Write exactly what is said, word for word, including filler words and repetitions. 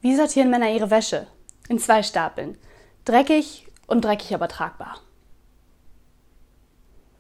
Wie sortieren Männer ihre Wäsche? In zwei Stapeln. Dreckig und dreckig aber tragbar.